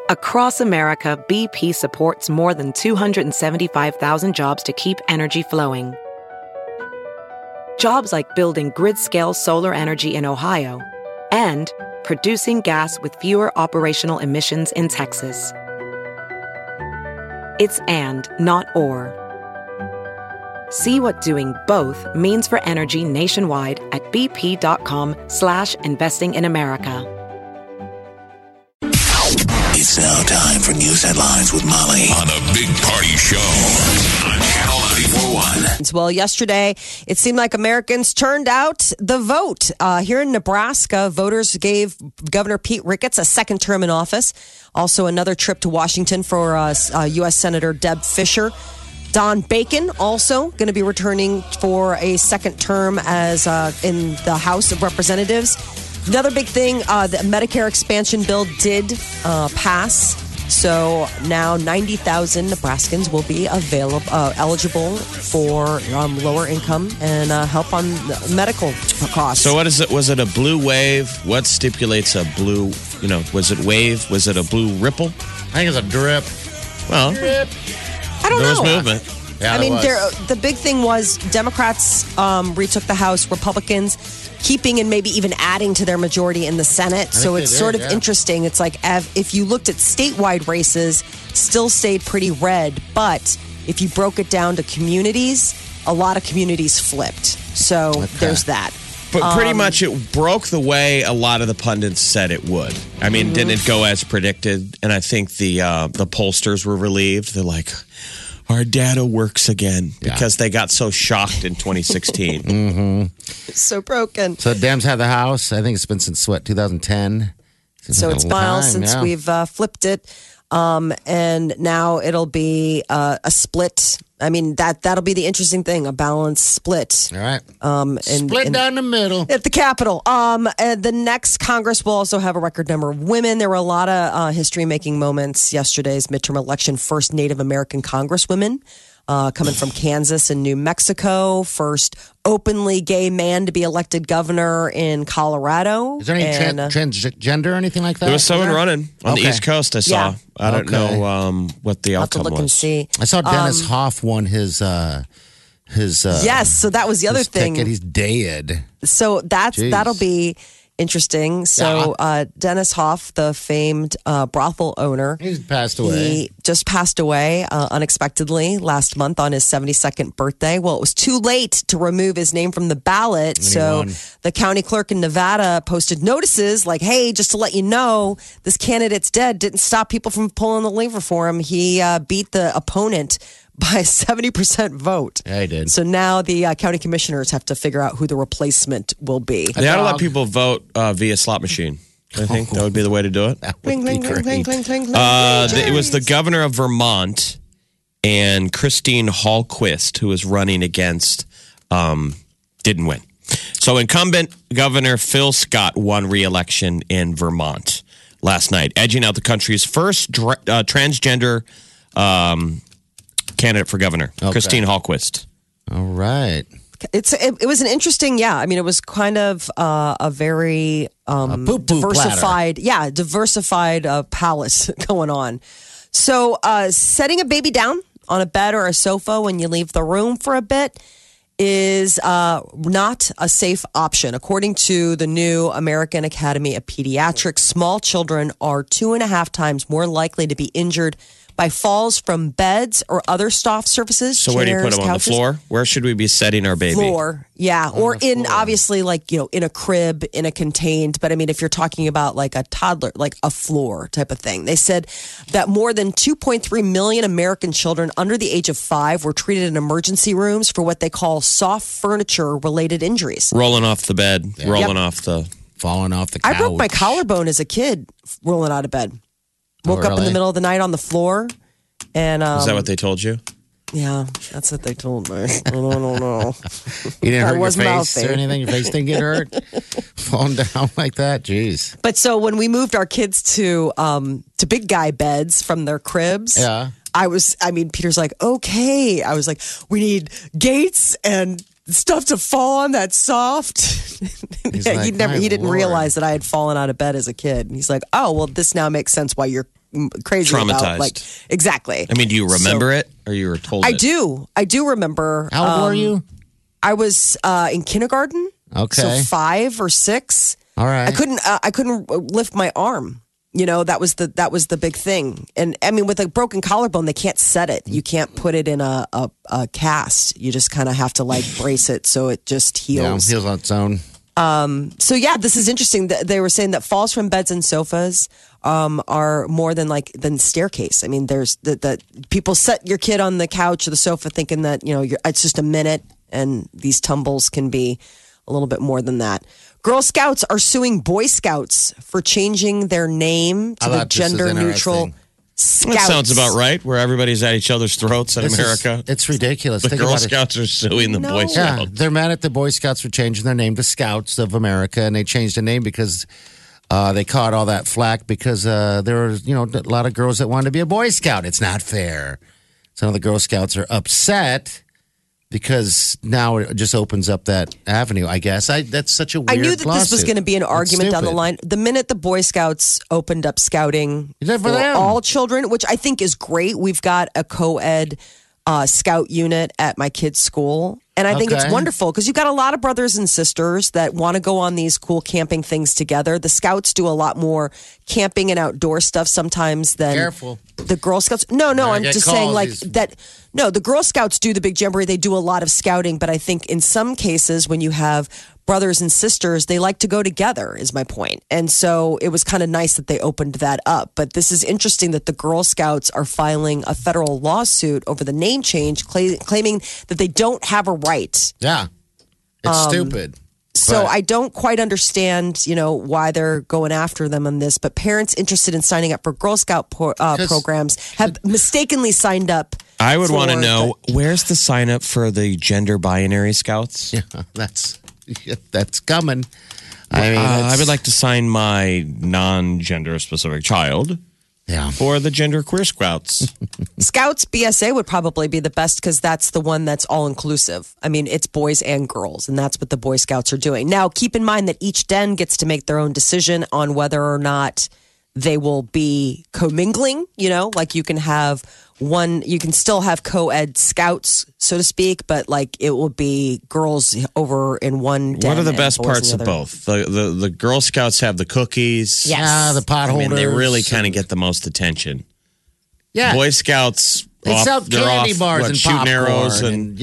Across America, BP supports more than 275,000 jobs to keep energy flowing. Jobs like building grid-scale solar energy in Ohio and producing gas with fewer operational emissions in Texas. It's and, not or. See what doing both means for energy nationwide at bp.com/investing in America. It's now time for news headlines with Molly on a Big Party Show on Channel 94.1. Well, yesterday, it seemed like Americans turned out the vote. Here in Nebraska, voters gave Governor Pete Ricketts a second term in office. Also, another trip to Washington for U.S. Senator Deb Fischer. Don Bacon also going to be returning for a second term as in the House of Representatives. Another big thing, the Medicare expansion bill did pass. So now 90,000 Nebraskans will be eligible for lower income and help on medical costs. So what is it? Was it a blue wave? What stipulates a blue, was it wave? Was it a blue ripple? I think it's a drip. Well, drip. I don't know. There was movement. Yeah, I mean, the big thing was Democrats retook the House, Republicans keeping and maybe even adding to their majority in the Senate. So it's sort of interesting. It's like if you looked at statewide races, still stayed pretty red. But if you broke it down to communities, a lot of communities flipped. So there's that. But pretty much it broke the way a lot of the pundits said it would. I mean, didn't it go as predicted? And I think the pollsters were relieved. They're like, our data works again because they got so shocked in 2016. It's so broken. So Dems have the House. I think it's been since, 2010? So it's a while since we've flipped it. And now it'll be a split. I mean, that'll be the interesting thing, a balanced split. All right. Split down the middle. At the Capitol. And the next Congress will also have a record number of women. There were a lot of history-making moments yesterday's midterm election. First Native American Congresswomen coming from Kansas and New Mexico. First openly gay man to be elected governor in Colorado. Is there any transgender or anything like that? There was someone running on the East Coast, I saw. Yeah. I don't know what the outcome I'll have to look and see. I saw Dennis Hoff won his yes, so that was the other thing. Ticket. He's dead. So that'll be interesting. So Dennis Hoff, the famed brothel owner, he's passed away. He just passed away unexpectedly last month on his 72nd birthday. Well, it was too late to remove his name from the ballot. So the county clerk in Nevada posted notices like, hey, just to let you know, this candidate's dead. Didn't stop people from pulling the lever for him. He beat the opponent by a 70% vote. Yeah, he did. So now the county commissioners have to figure out who the replacement will be. They ought to let people vote via slot machine. I think that would be the way to do it. That would be great. It was the governor of Vermont and Christine Hallquist who was running against, didn't win. So incumbent Governor Phil Scott won re-election in Vermont last night, edging out the country's first transgender candidate for governor, Christine Hallquist. All right. It was an interesting, I mean, it was kind of a very diversified, diversified palette going on. So setting a baby down on a bed or a sofa when you leave the room for a bit is not a safe option. According to the new American Academy of Pediatrics, small children are 2.5 times more likely to be injured by falls from beds or other soft surfaces. So where do you put them, on couches? the floor? Where should we be setting our baby? Floor, or in obviously in a crib, in a contained. But I mean, if you're talking about like a toddler, like a floor type of thing, they said that more than 2.3 million American children under the age of 5 were treated in emergency rooms for what they call soft furniture related injuries. Rolling off the bed, falling off the couch. I broke my collarbone as a kid rolling out of bed. Woke up in the middle of the night on the floor. And is that what they told you? Yeah, that's what they told me. I don't know. You didn't hurt your face or anything? Your face didn't get hurt? Falling down like that? Jeez. But so when we moved our kids to big guy beds from their cribs, Peter's like, okay. I was like, we need gates and stuff to fall on that's soft. He didn't realize that I had fallen out of bed as a kid. And he's like, oh, well, this now makes sense why you're crazy Traumatized. about. Like, exactly. I mean, do you remember it, or you were told? I do remember. How old were you? I was in kindergarten. Okay, so 5 or 6. All right. I couldn't lift my arm. You know, that was the big thing. And I mean, with a broken collarbone, they can't set it. You can't put it in a cast. You just kind of have to like brace it so it just heals. Yeah, heals on its own. So yeah, this is interesting. They were saying that falls from beds and sofas are more than staircase. I mean, there's that people set your kid on the couch or the sofa thinking that it's just a minute, and these tumbles can be a little bit more than that. Girl Scouts are suing Boy Scouts for changing their name to the gender-neutral Scouts. That sounds about right, where everybody's at each other's throats in America. It's ridiculous. The Girl Scouts are suing the Boy Scouts. Yeah, they're mad at the Boy Scouts for changing their name to Scouts of America, and they changed the name because they caught all that flack because there were, a lot of girls that wanted to be a Boy Scout. It's not fair. Some of the Girl Scouts are upset because now it just opens up that avenue, I guess. That's such a weird I knew that this was lawsuit. going to be an argument down the line. The minute the Boy Scouts opened up scouting for all children, which I think is great. We've got a co-ed scout unit at my kid's school. And I think it's wonderful because you've got a lot of brothers and sisters that want to go on these cool camping things together. The Scouts do a lot more camping and outdoor stuff sometimes than the Girl Scouts. No, I'm just saying that. No, the Girl Scouts do the big jamboree. They do a lot of scouting. But I think in some cases when you have brothers and sisters, they like to go together is my point. And so it was kind of nice that they opened that up. But this is interesting that the Girl Scouts are filing a federal lawsuit over the name change, claiming that they don't have a right. Yeah. It's stupid. So I don't quite understand, why they're going after them on this. But parents interested in signing up for Girl Scout programs have mistakenly signed up. I would want to know, where's the sign up for the gender binary Scouts? Yeah, that's coming. I mean, I would like to sign my non-gender specific child for the gender queer Scouts. Scouts BSA would probably be the best because that's the one that's all inclusive. I mean, it's boys and girls, and that's what the Boy Scouts are doing. Now, keep in mind that each den gets to make their own decision on whether or not they will be commingling. Like you can have you can still have co-ed scouts, so to speak, but like it will be girls over in one den. What are the best parts of both? The Girl Scouts have the cookies. Yes. The pot holders. I mean, they really kind of get the most attention. Yeah. Boy Scouts, they sell candy bars and shooting popcorn arrows. And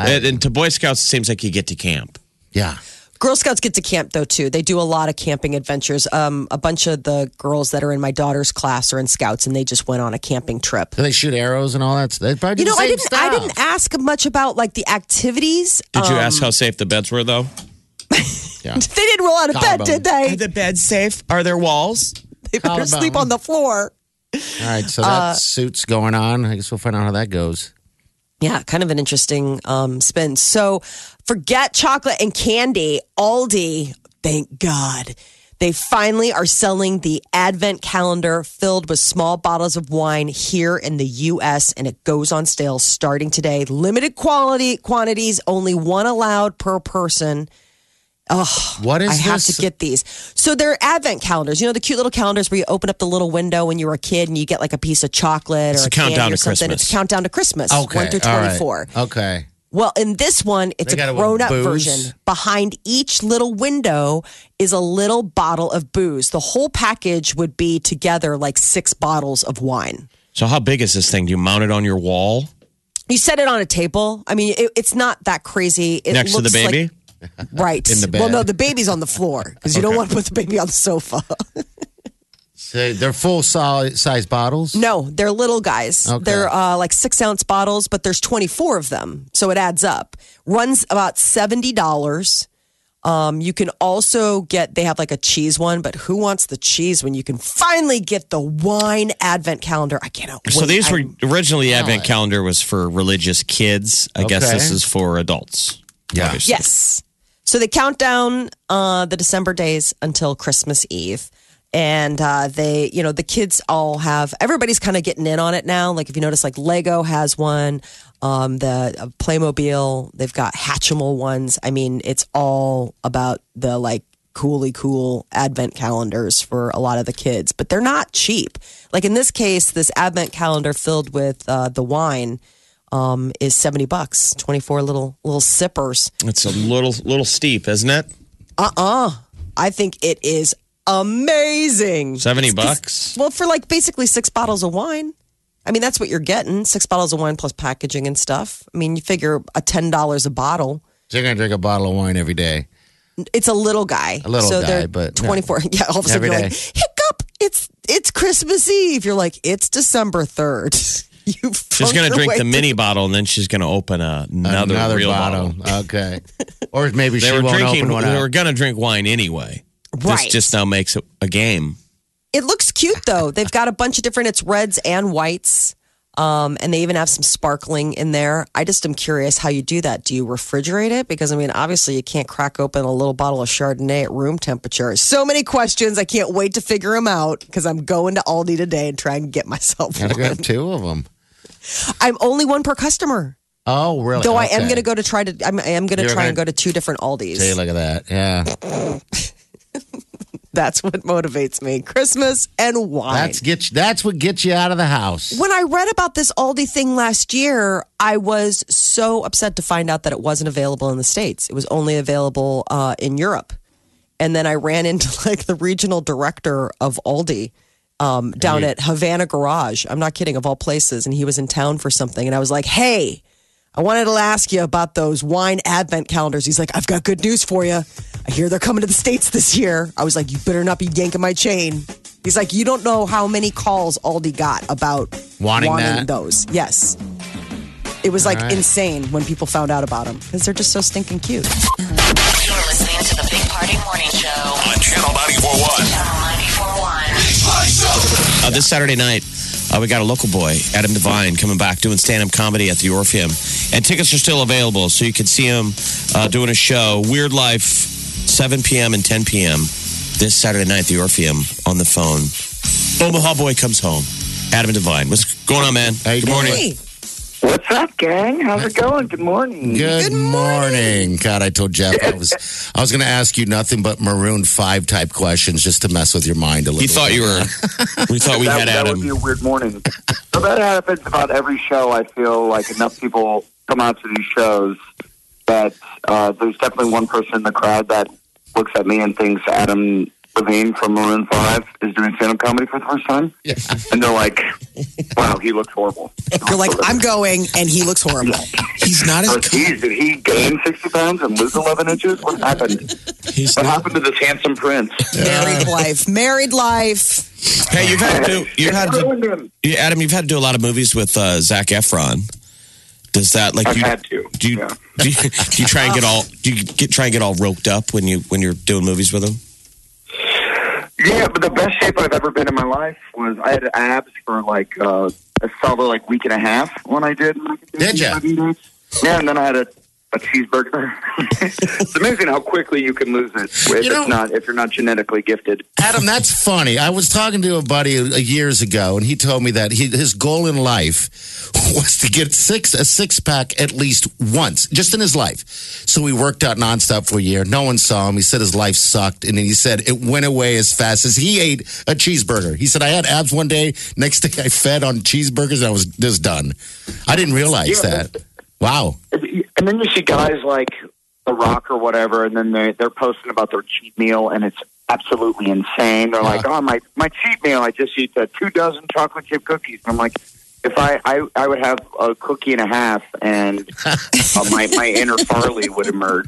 to Boy Scouts, it seems like you get to camp. Yeah. Girl Scouts get to camp, though, too. They do a lot of camping adventures. A bunch of the girls that are in my daughter's class are in Scouts, and they just went on a camping trip. Do they shoot arrows and all that? They probably do the same stuff. I didn't ask much about, like, the activities. Did you ask how safe the beds were, though? Yeah. They didn't roll out of bed, did they? Are the beds safe? Are there walls? They better sleep on the floor. All right, so that suit's going on. I guess we'll find out how that goes. Yeah, kind of an interesting spin. So forget chocolate and candy. Aldi, thank God. They finally are selling the Advent calendar filled with small bottles of wine here in the U.S., and it goes on sale starting today. Limited quantities, only one allowed per person. Oh, what is I have this? to get these. So they're Advent calendars. The cute little calendars where you open up the little window when you were a kid and you get like a piece of chocolate or a countdown candy or to something. Christmas. It's a countdown to Christmas. Okay. 1 through 24. Right. Okay. Well, in this one, it's They got a it with grown-up booze? version. Behind each little window is a little bottle of booze. The whole package would be together like 6 bottles of wine. So how big is this thing? Do you mount it on your wall? You set it on a table. I mean, it's not that crazy. It Next to the looks baby? like- right. In the bed. Well, no, the baby's on the floor because you don't want to put the baby on the sofa. So they're full size bottles? No, they're little guys. Okay. They're like 6-ounce bottles, but there's 24 of them. So it adds up. Runs about $70. You can also they have like a cheese one, but who wants the cheese when you can finally get the wine Advent calendar? I cannot wait. So these were originally Advent calendar was for religious kids. I guess Okay. this is for adults. Yeah. obviously. Yes. So they count down the December days until Christmas Eve. And the kids all have, everybody's kind of getting in on it now. Like if you notice, like Lego has one, the Playmobil, they've got Hatchimal ones. I mean, it's all about the like cool advent calendars for a lot of the kids, but they're not cheap. Like in this case, this advent calendar filled with the wine is $70. 24 little sippers. It's a little steep, isn't it? I think it is amazing. $70. Well, for like basically 6 bottles of wine. I mean, that's what you're getting. 6 bottles of wine plus packaging and stuff. I mean, you figure $10 a bottle. So you're going to drink a bottle of wine every day. It's a little guy. They're but 24. Yeah, all of a sudden every you're day. like, hiccup, it's Christmas Eve. You're like, it's December 3rd. She's going to drink the mini bottle, and then she's going to open another real bottle. Okay. Or maybe she They won't open one They up. were going to drink wine anyway. Right. This just now makes it a game. It looks cute, though. They've got a bunch of different, it's reds and whites. And they even have some sparkling in there. I just am curious how you do that. Do you refrigerate it? Because, I mean, obviously you can't crack open a little bottle of Chardonnay at room temperature. So many questions. I can't wait to figure them out because I'm going to Aldi today and try and get myself Gotta one. grab 2 of them. I'm only one per customer. Oh, really? Though I Okay. am going to go to try to, I am going to You're try and gonna- go to 2 different Aldis. See, look at that. Yeah. That's what motivates me. Christmas and wine. That's what gets you out of the house. When I read about this Aldi thing last year, I was so upset to find out that it wasn't available in the States. It was only available in Europe. And then I ran into like the regional director of Aldi down at Havana Garage. I'm not kidding, of all places. And he was in town for something. And I was like, hey, I wanted to ask you about those wine advent calendars. He's like, I've got good news for you. I hear they're coming to the States this year. I was like, you better not be yanking my chain. He's like, you don't know how many calls Aldi got about Wanting that? those. Yes. It was like right. insane when people found out about them because they're just so stinking cute. You're listening to the Big Party Morning Show On Channel 94.1. Channel 94.1. This Saturday night, we got a local boy, Adam Devine, coming back doing stand-up comedy at the Orpheum. And tickets are still available, so you can see him doing a show, Weird Life, 7 p.m. and 10 p.m. this Saturday night at the Orpheum on the phone. Omaha boy comes home. Adam Devine. What's going on, man? How you Good morning. Hey, What's up, gang? How's it going? Good morning. Good morning. God, I told Jeff I was going to ask you nothing but Maroon 5 type questions just to mess with your mind a little. He thought you were. We thought we had that would Adam. be a weird morning. So that happens about every show. I feel like enough people come out to these shows that there's definitely one person in the crowd that looks at me and thinks Adam Levine from Maroon 5 is doing stand-up comedy for the first time. Yeah. And they're like, wow, he looks horrible. you're like, I'm going, and he looks horrible. He's not as. Oh, geez, did he gain 60 pounds and lose 11 inches? What happened? He's What not. happened to this handsome prince? Married life. Married life. Hey, you've had to. Ruined him. Adam, you've had to do a lot of movies with Zac Efron. Does that like I've you? had to. Do you, Yeah. do you try and get all? Do you try and get all roped up when you're doing movies with him? Yeah, but the best shape I've ever been in my life was I had abs for like a solid like week and a half when I did. Did ya? Yeah, and then I had a cheeseburger. It's amazing how quickly you can lose it if you're not genetically gifted. Adam, that's funny. I was talking to a buddy years ago, and he told me that his goal in life was to get a six-pack at least once, just in his life. So he worked out nonstop for a year. No one saw him. He said his life sucked, and then he said it went away as fast as he ate a cheeseburger. He said, I had abs one day. Next day, I fed on cheeseburgers, and I was just done. I didn't realize that. Wow. And then you see guys like The Rock or whatever, and then they're posting about their cheat meal, and it's absolutely insane. They're like, "Oh, my cheat meal, I just eat 2 dozen chocolate chip cookies." And I'm like, if I would have a cookie and a half, and my inner Farley would emerge.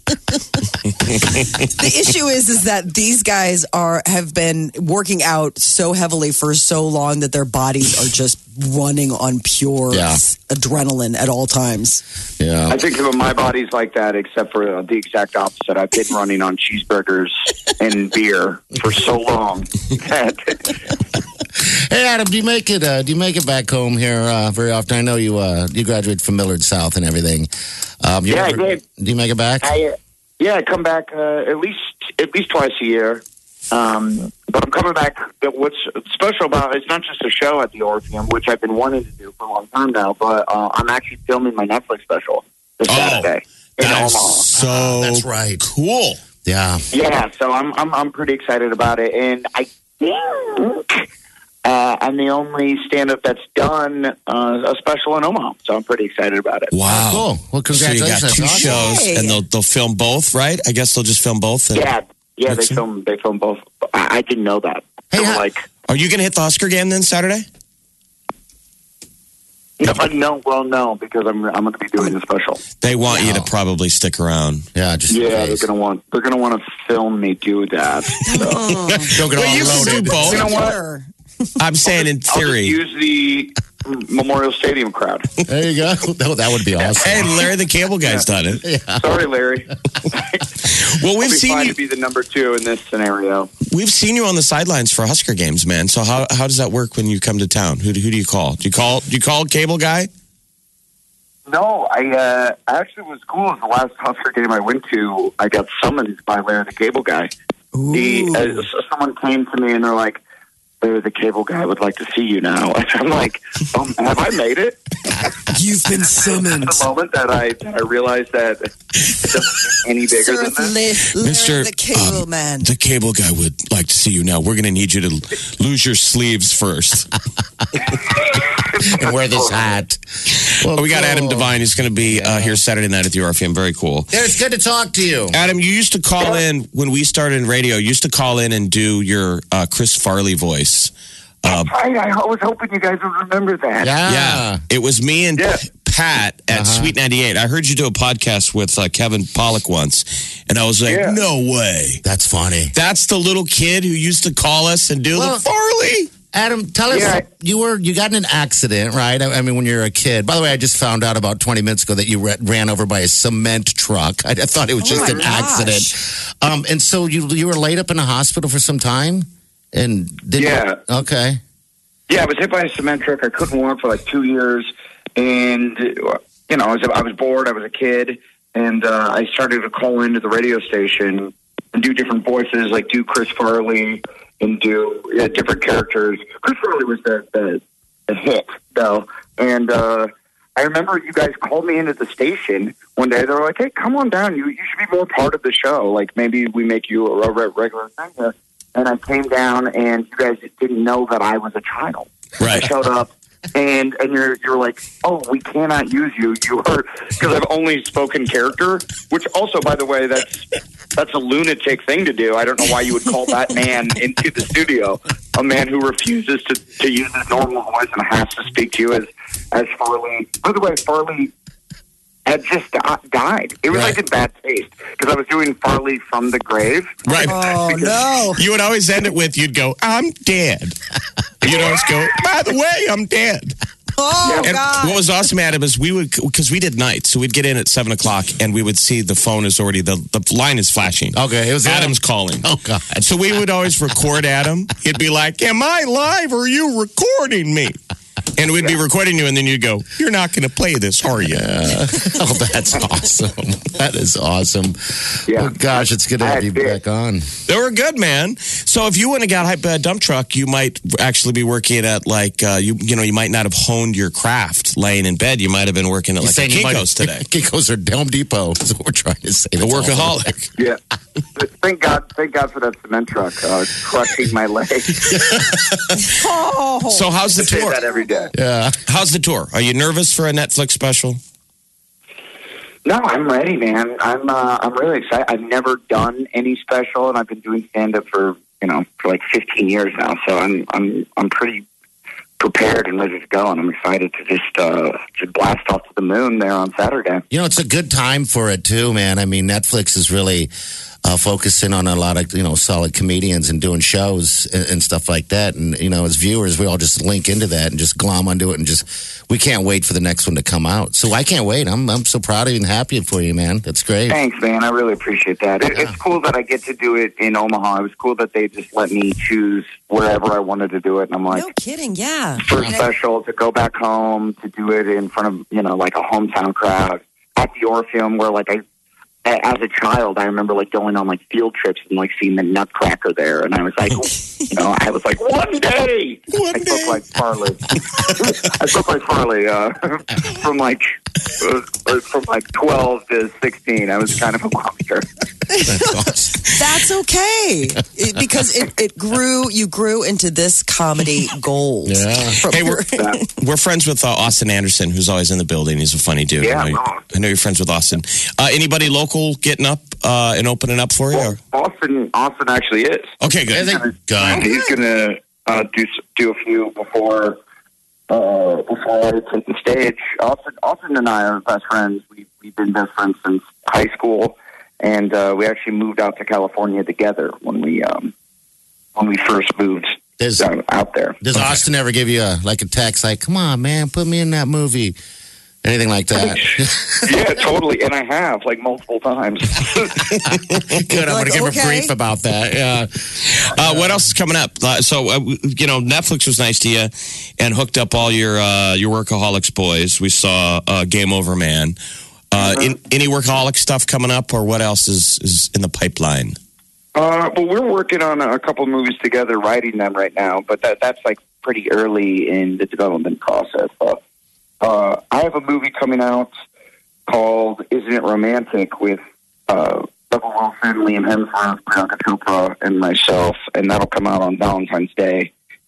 The issue is that these guys have been working out so heavily for so long that their bodies are just running on pure adrenaline at all times. Yeah. I think my body's like that, except for the exact opposite. I've been running on cheeseburgers and beer for so long. Hey, Adam, do you make it back home here very often? I know you graduated from Millard South and everything. I did. Do you make it back? I come back at least twice a year. But I'm coming back. What's special about it's not just a show at the Orpheum, which I've been wanting to do for a long time now, but I'm actually filming my Netflix special this Saturday in Omaha. So that's right. Cool. Yeah, so I'm pretty excited about it, and I think I'm the only stand-up that's done a special in Omaha, so I'm pretty excited about it. Wow. Cool. Well, congratulations. So you got two That's shows, Hey. and they'll film both, right? I guess they'll just film both. and- Yeah, they Mixer? film both. I didn't know that. Hey, So, how- like, Are you going to hit the Husker game then Saturday? no, because I'm going to be doing the special. They want you to probably stick around. Yeah, just Yeah, they're going to want to film me do that. So. don't get all Well, you can loaded. do both. You know what? Sure. I'm saying in I'll just theory. use the Memorial Stadium crowd. There you go. That would be awesome. Hey, Larry the Cable Guy's done it. Sorry, Larry. Well, I'll we've be seen fine you. to be the number 2 in this scenario. We've seen you on the sidelines for Husker games, man. So how does that work when you come to town? Who do you call? Do you call Cable Guy? No, I actually was cool. As the last Husker game I went to, I got summoned by Larry the Cable Guy. Someone came to me and they're like, Larry the Cable Guy would like to see you now. And I'm like, have I made it? You've been summoned. The moment that I realized that it doesn't get any bigger than this. Mr. the Cable Man. The Cable Guy would like to see you now. We're going to need you to lose your sleeves first. And wear this hat. Well, We got cool. Adam Devine. He's going to be here Saturday night at the RFM. Very cool. It's good to talk to you. Adam, you used to call in when we started in radio. You used to call in and do your Chris Farley voice. I was hoping you guys would remember that. Yeah, it was me and Yeah. Pat at Sweet 98. I heard you do a podcast with Kevin Pollak once, and I was like, Yeah. no way. That's funny. That's the little kid who used to call us and do Well- the Farley. Adam, tell us, Yeah. you got in an accident, right? I mean, when you're a kid. By the way, I just found out about 20 minutes ago that you ran over by a cement truck. I thought it was just my an accident. And so you were laid up in a hospital for some time? And Yeah. Okay. Yeah, I was hit by a cement truck. I couldn't walk for like 2 years, and I was bored. I was a kid, and I started to call into the radio station and do different voices, like do Chris Farley and do different characters. Chris Farley was the hit, though, and I remember you guys called me into the station one day. They were like, "Hey, come on down. You should be more part of the show. Like maybe we make you a regular thing here." And I came down, and you guys didn't know that I was a child. Right. I showed up, and you're like, "Oh, we cannot use you. You are," because I've only spoken character. Which also, by the way, that's a lunatic thing to do. I don't know why you would call that man into the studio. A man who refuses to use his normal voice and has to speak to you as Farley. By the way, Farley had just died. It was like in bad taste because I was doing Farley from the grave. Right. Oh, no. You would always end it with, you'd go, I'm dead. You'd always go, by the way, I'm dead. Oh, And God. what was awesome, Adam, is because we did nights, so we'd get in at 7 o'clock and we would see the phone is already, the line is flashing. Okay, it was Adam's calling. Oh, God. So we would always record Adam. He'd be like, am I live or are you recording me? And we'd be recording you, and then you'd go, you're not going to play this, are you? Oh, that's awesome. That is awesome. Yeah. Oh, gosh, it's good to have you back on. They were good, man. So if you wouldn't have got a dump truck, you might actually be working at you might not have honed your craft laying in bed. You might have been working at like a Saying you might- Kinko's today. Kinko's or Home Depot is what we're trying to say. A That's awesome. workaholic. Yeah. Thank God for that cement truck crushing my leg. So how's the I say tour? that every day. Yeah. How's the tour? Are you nervous for a Netflix special? No, I'm ready, man. I'm really excited. I've never done any special, and I've been doing stand up for like 15 years now. So I'm pretty prepared and ready to go, and I'm excited to just blast off to the moon there on Saturday. You know, it's a good time for it too, man. I mean, Netflix is really focusing on a lot of, solid comedians and doing shows and stuff like that. And, as viewers, we all just link into that and just glom onto it and we can't wait for the next one to come out. So I can't wait. I'm so proud of you and happy for you, man. That's great. Thanks, man. I really appreciate that. It's cool that I get to do it in Omaha. It was cool that they just let me choose wherever I wanted to do it. And I'm like, No kidding, yeah. first special to go back home to do it in front of like a hometown crowd at the Orpheum, where as a child I remember going on field trips and seeing the Nutcracker there, and I was like I was like one day I spoke like Farley. I look like Farley from like 12 to 16. I was kind of a monster. That's okay. Because it grew, you grew into this comedy gold. Yeah. Hey, we're friends with Austin Anderson, who's always in the building. He's a funny dude. Yeah, I know you're friends with Austin. Anybody local getting up and opening up for you? Well, Austin actually is. Okay, good. He's going to do a few before I take the stage. Austin and I are best friends. We've been best friends since high school, and we actually moved out to California together when we first moved out there. Does Austin ever give you a text like, "Come on, man, put me in that movie"? Anything like that? Yeah, totally. And I have, like, multiple times. Good. I'm going to give a brief about that. Yeah. What else is coming up? Netflix was nice to you and hooked up all your Workaholics boys. We saw Game Over Man. Any Workaholic stuff coming up, or what else is in the pipeline? Well, we're working on a couple movies together, writing them right now, but that's, like, pretty early in the development process. I have a movie coming out called Isn't It Romantic with Rebel Wilson, Liam Hemsworth, Priyanka Chopra, and myself, and that'll come out on Valentine's Day.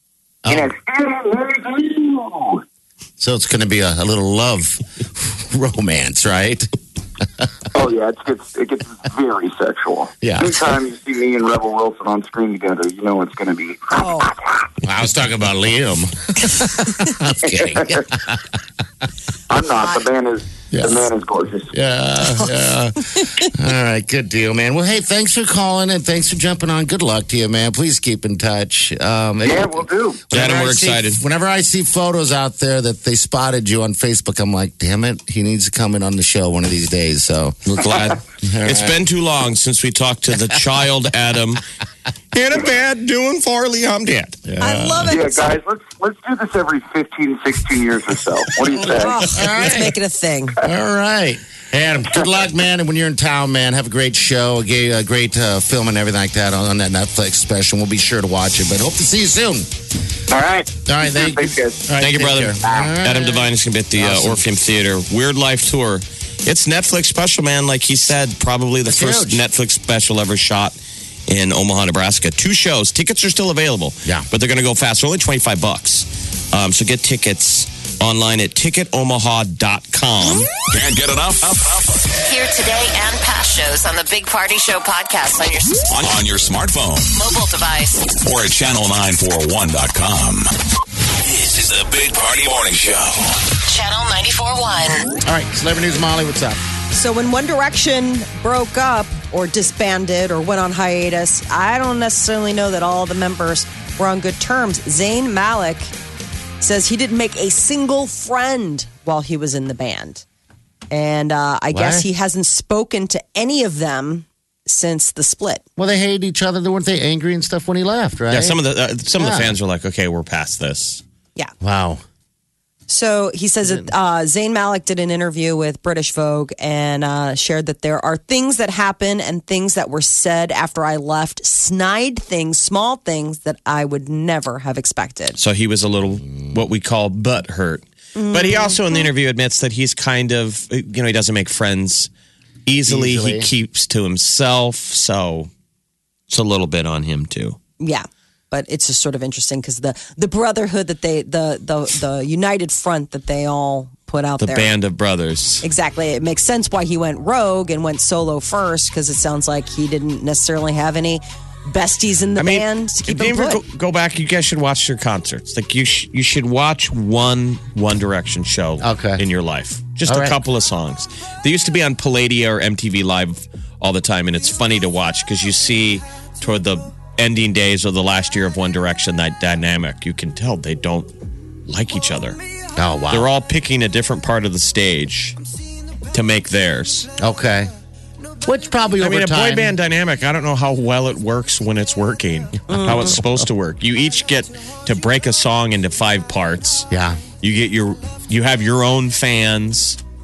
Oh. So it's going to be a little love romance, right? Oh, yeah, it gets very sexual. Yeah. Anytime you see me and Rebel Wilson on screen together, you know it's going to be... Oh. I was talking about Liam. I'm kidding. I'm not. The man is gorgeous. Yeah. All right, good deal, man. Well, hey, thanks for calling and thanks for jumping on. Good luck to you, man. Please keep in touch. Yeah, we'll do. Adam, we're excited. Whenever I see photos out there that they spotted you on Facebook, I'm like, damn it, he needs to come in on the show one of these days. So we're glad. It's been too long since we talked to the child Adam. In a bed doing Farley, I'm dead. Yeah. I love it. Yeah, guys, let's do this every 15, 16 years or so. What do you say? Let's make it a thing. All right. Adam, good luck, man. And when you're in town, man, have a great show, a great film and everything like that on that Netflix special. We'll be sure to watch it, but hope to see you soon. All right. Thanks, guys. All right, thank you, brother. Right. Adam Devine is going to be at the Orpheum Theater. Weird Life Tour. It's Netflix special, man. Like he said, probably the first Netflix special ever shot in Omaha, Nebraska. 2 shows. Tickets are still available. Yeah. But they're going to go fast. They're only $25. So get tickets online at ticketomaha.com. Can't get enough? Hear today and past shows on the Big Party Show podcast On your smartphone. mobile device. Or at channel941.com. This is the Big Party Morning Show. Channel 94.1. All right, Celebrity News, Molly, what's up? So when One Direction broke up or disbanded or went on hiatus, I don't necessarily know that all the members were on good terms. Zayn Malik says he didn't make a single friend while he was in the band. And I guess he hasn't spoken to any of them since the split. Well, they hated each other. Weren't they angry and stuff when he left, right? Yeah, some of the fans are like, okay, we're past this. Yeah. Wow. So he says that Zayn Malik did an interview with British Vogue and shared that there are things that happen and things that were said after I left, snide things, small things that I would never have expected. So he was a little, what we call butt hurt. But he also in the interview admits that he's kind of, he doesn't make friends easily. He keeps to himself. So it's a little bit on him too. Yeah. But it's just sort of interesting because the brotherhood that the united front that they all put out there. The band of brothers. Exactly. It makes sense why he went rogue and went solo first because it sounds like he didn't necessarily have any besties in the band to keep him put. Go back. You guys should watch their concerts. Like you should watch One Direction show in your life. Just a couple of songs. They used to be on Palladia or MTV Live all the time, and it's funny to watch because you see toward the ending days of the last year of One Direction, that dynamic, you can tell they don't like each other. Oh, wow. They're all picking a different part of the stage to make theirs. Okay. Which probably over a time. boy band dynamic, I don't know how well it works when it's working, how it's supposed to work. You each get to break a song into 5 parts. Yeah. You have your own fans.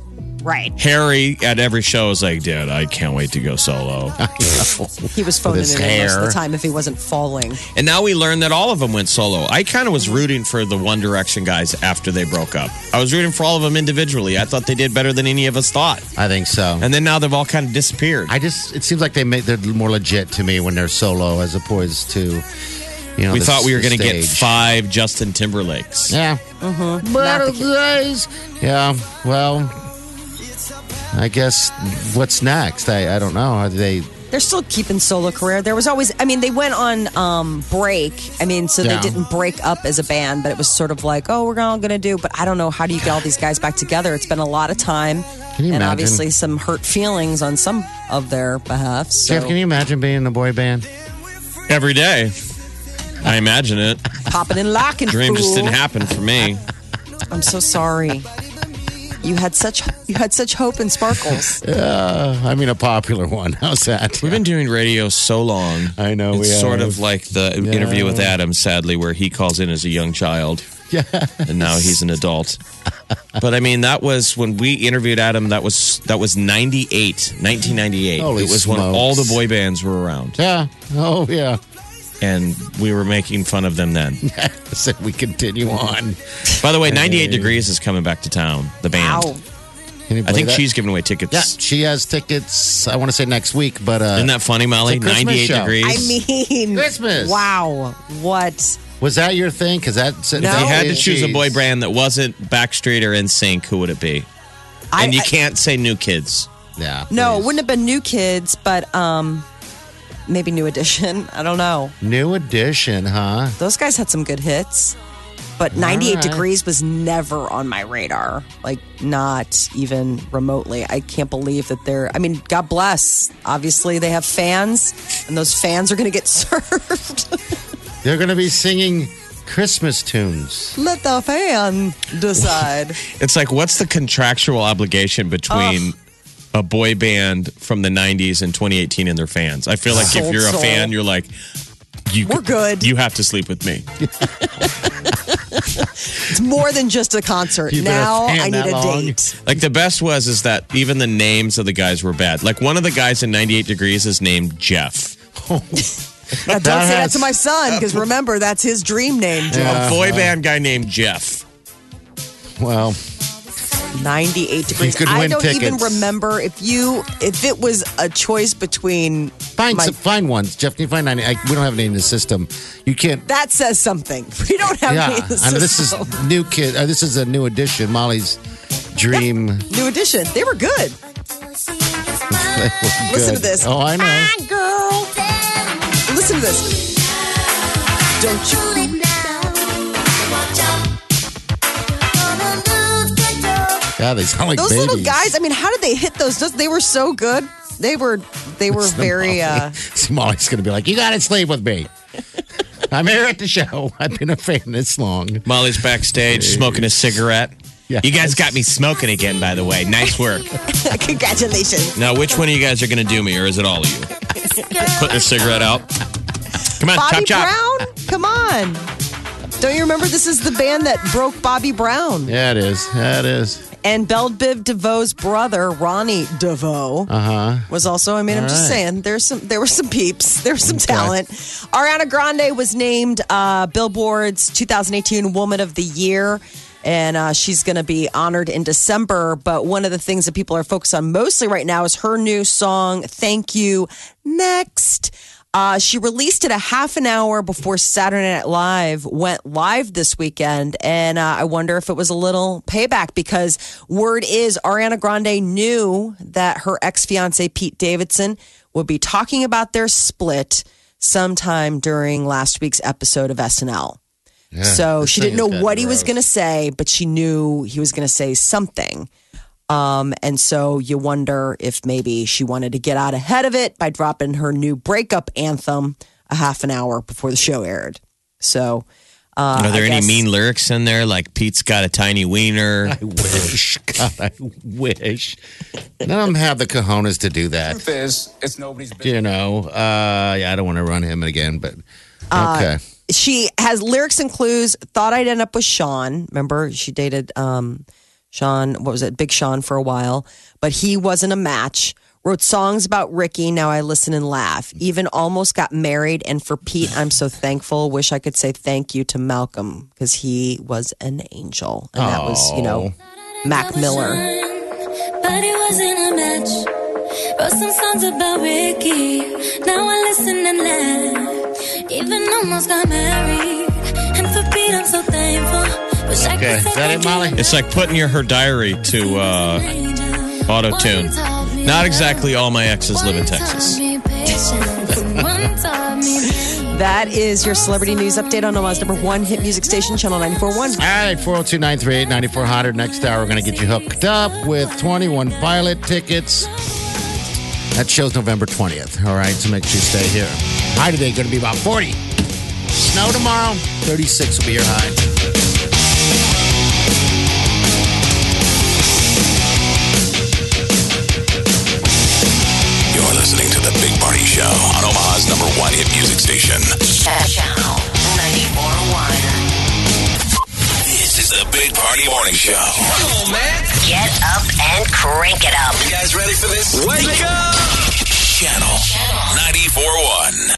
Right. Harry at every show is like, dude, I can't wait to go solo. He was phoning his it in most of hair. the time if he wasn't falling. And now we learned that all of them went solo. I kind of was rooting for the One Direction guys after they broke up. I was rooting for all of them individually. I thought they did better than any of us thought. I think so. And then now they've all kind of disappeared. It seems like they're more legit to me when they're solo as opposed to, we thought we were going to get stage. 5 Justin Timberlakes. Yeah. Better days. Yeah. Well, I guess what's next? I don't know. Are they? They're still keeping solo career. There was always, they went on break. So they Yeah. didn't break up as a band, but it was sort of like, oh, we're all going to do. But I don't know, how do you get all these guys back together? It's been a lot of time. Can you and imagine? obviously some hurt feelings on some of their behalf. So Jeff, can you imagine being in a boy band? Every day. I imagine it. popping and locking. Dream just fool. didn't happen for me. I'm so sorry. You had such hope and sparkles. A popular one. How's that? We've been doing radio so long. I know, It's we sort have. of like the interview with Adam, sadly, where he calls in as a young child. Yeah. And now he's an adult. But that was when we interviewed Adam, that was 1998. Holy it was when smokes. all the boy bands were around. Yeah. Oh, yeah. And we were making fun of them then. So we continue on. By the way, 98 Degrees is coming back to town, the band. Wow. Can you I believe think that? she's giving away tickets. Yeah, she has tickets, I want to say next week, but... Isn't that funny, Molly? It's a Christmas 98 show. degrees. Christmas. Wow. What? Was that your thing? Because that's... No. If you had to Oh, choose a boy band that wasn't Backstreet or NSYNC, who would it be? And you can't say New Kids. Yeah. No, it please. wouldn't have been New Kids, but maybe New Edition. I don't know. New Edition, huh? Those guys had some good hits. But 98 right. Degrees was never on my radar. Like, not even remotely. I can't believe that they're... God bless. Obviously, they have fans, and those fans are going to get served. They're going to be singing Christmas tunes. Let the fan decide. It's like, what's the contractual obligation between a boy band from the 90s and 2018 and their fans? I feel like if Sold you're a soul. fan, you're like, We're good. You have to sleep with me. It's more than just a concert. You've been a Now fan I need that a long? date. Like the best is that even the names of the guys were bad. Like one of the guys in 98 Degrees is named Jeff. Now, don't say that to my son, because remember, that's his dream name, Joe. A boy band guy named Jeff. Well, 98 degrees. could I win don't even tickets. remember if it was a choice between find ones. Jeff, can you find 90? We don't have any in the system. You can't. that says something. We don't have any in the I know this is system. new kid. This is a new edition. Molly's dream. New edition. They were good. They were Listen good. to this. Oh, I know. Listen to this. Don't you? Yeah, they sound like Those babies. little guys. How did they hit those? They were so good. They were very. See, Molly's going to be like, you got to sleep with me. I'm here at the show. I've been a fan this long. Molly's backstage smoking a cigarette. Yeah. You guys got me smoking again, by the way. Nice work. Congratulations. Now, which one of you guys are going to do me, or is it all of you? Putting a cigarette out. Come on, Bobby chop chop. Brown? Come on. Don't you remember this is the band that broke Bobby Brown? Yeah, it is. Yeah, it is. And Belle Biv DeVoe's brother, Ronnie DeVoe, was also. I'm just right. saying, there were some peeps, there was some talent. Ariana Grande was named Billboard's 2018 Woman of the Year, and she's going to be honored in December. But one of the things that people are focused on mostly right now is her new song, "Thank You Next." She released it a half an hour before Saturday Night Live went live this weekend. And I wonder if it was a little payback, because word is Ariana Grande knew that her ex-fiance Pete Davidson would be talking about their split sometime during last week's episode of SNL. So this she thing didn't know has what gotten he was gross. going to say, but she knew he was going to say something. And so you wonder if maybe she wanted to get out ahead of it by dropping her new breakup anthem a half an hour before the show aired. So, Are there I any guess- mean lyrics in there? Like Pete's got a tiny wiener. I wish. God, I wish. None of them have the cojones to do that. Truth is, it's nobody's business. You know, yeah, I don't want to run him again, but okay. She has lyrics and clues. Thought I'd end up with Sean. Remember, she dated Sean, what was it? Big Sean for a while. But he wasn't a match. Wrote songs about Ricky. Now I listen and laugh. Even almost got married. And for Pete, I'm so thankful. Wish I could say thank you to Malcolm because he was an angel. And that was, Mac Miller. But it wasn't a match. Wrote some songs about Ricky. Now I listen and laugh. Even almost got married. And for Pete, I'm so thankful. Wish I could say Is that it, Molly? It's like putting her diary to auto-tune. Not exactly all my exes live in Texas. That is your celebrity news update on Omaha's number one hit music station, Channel 94.1. All right, 402-938-9400. Next hour, we're going to get you hooked up with 21 Pilot tickets. That show's November 20th. All right, so make sure you stay here. High today going to be about 40. Snow tomorrow, 36 will be your high. You're listening to The Big Party Show on Omaha's number one hit music station. Channel 94.1. This is The Big Party Morning Show. Come on, man. Get up and crank it up. You guys ready for this? Wake up! Channel 94.1.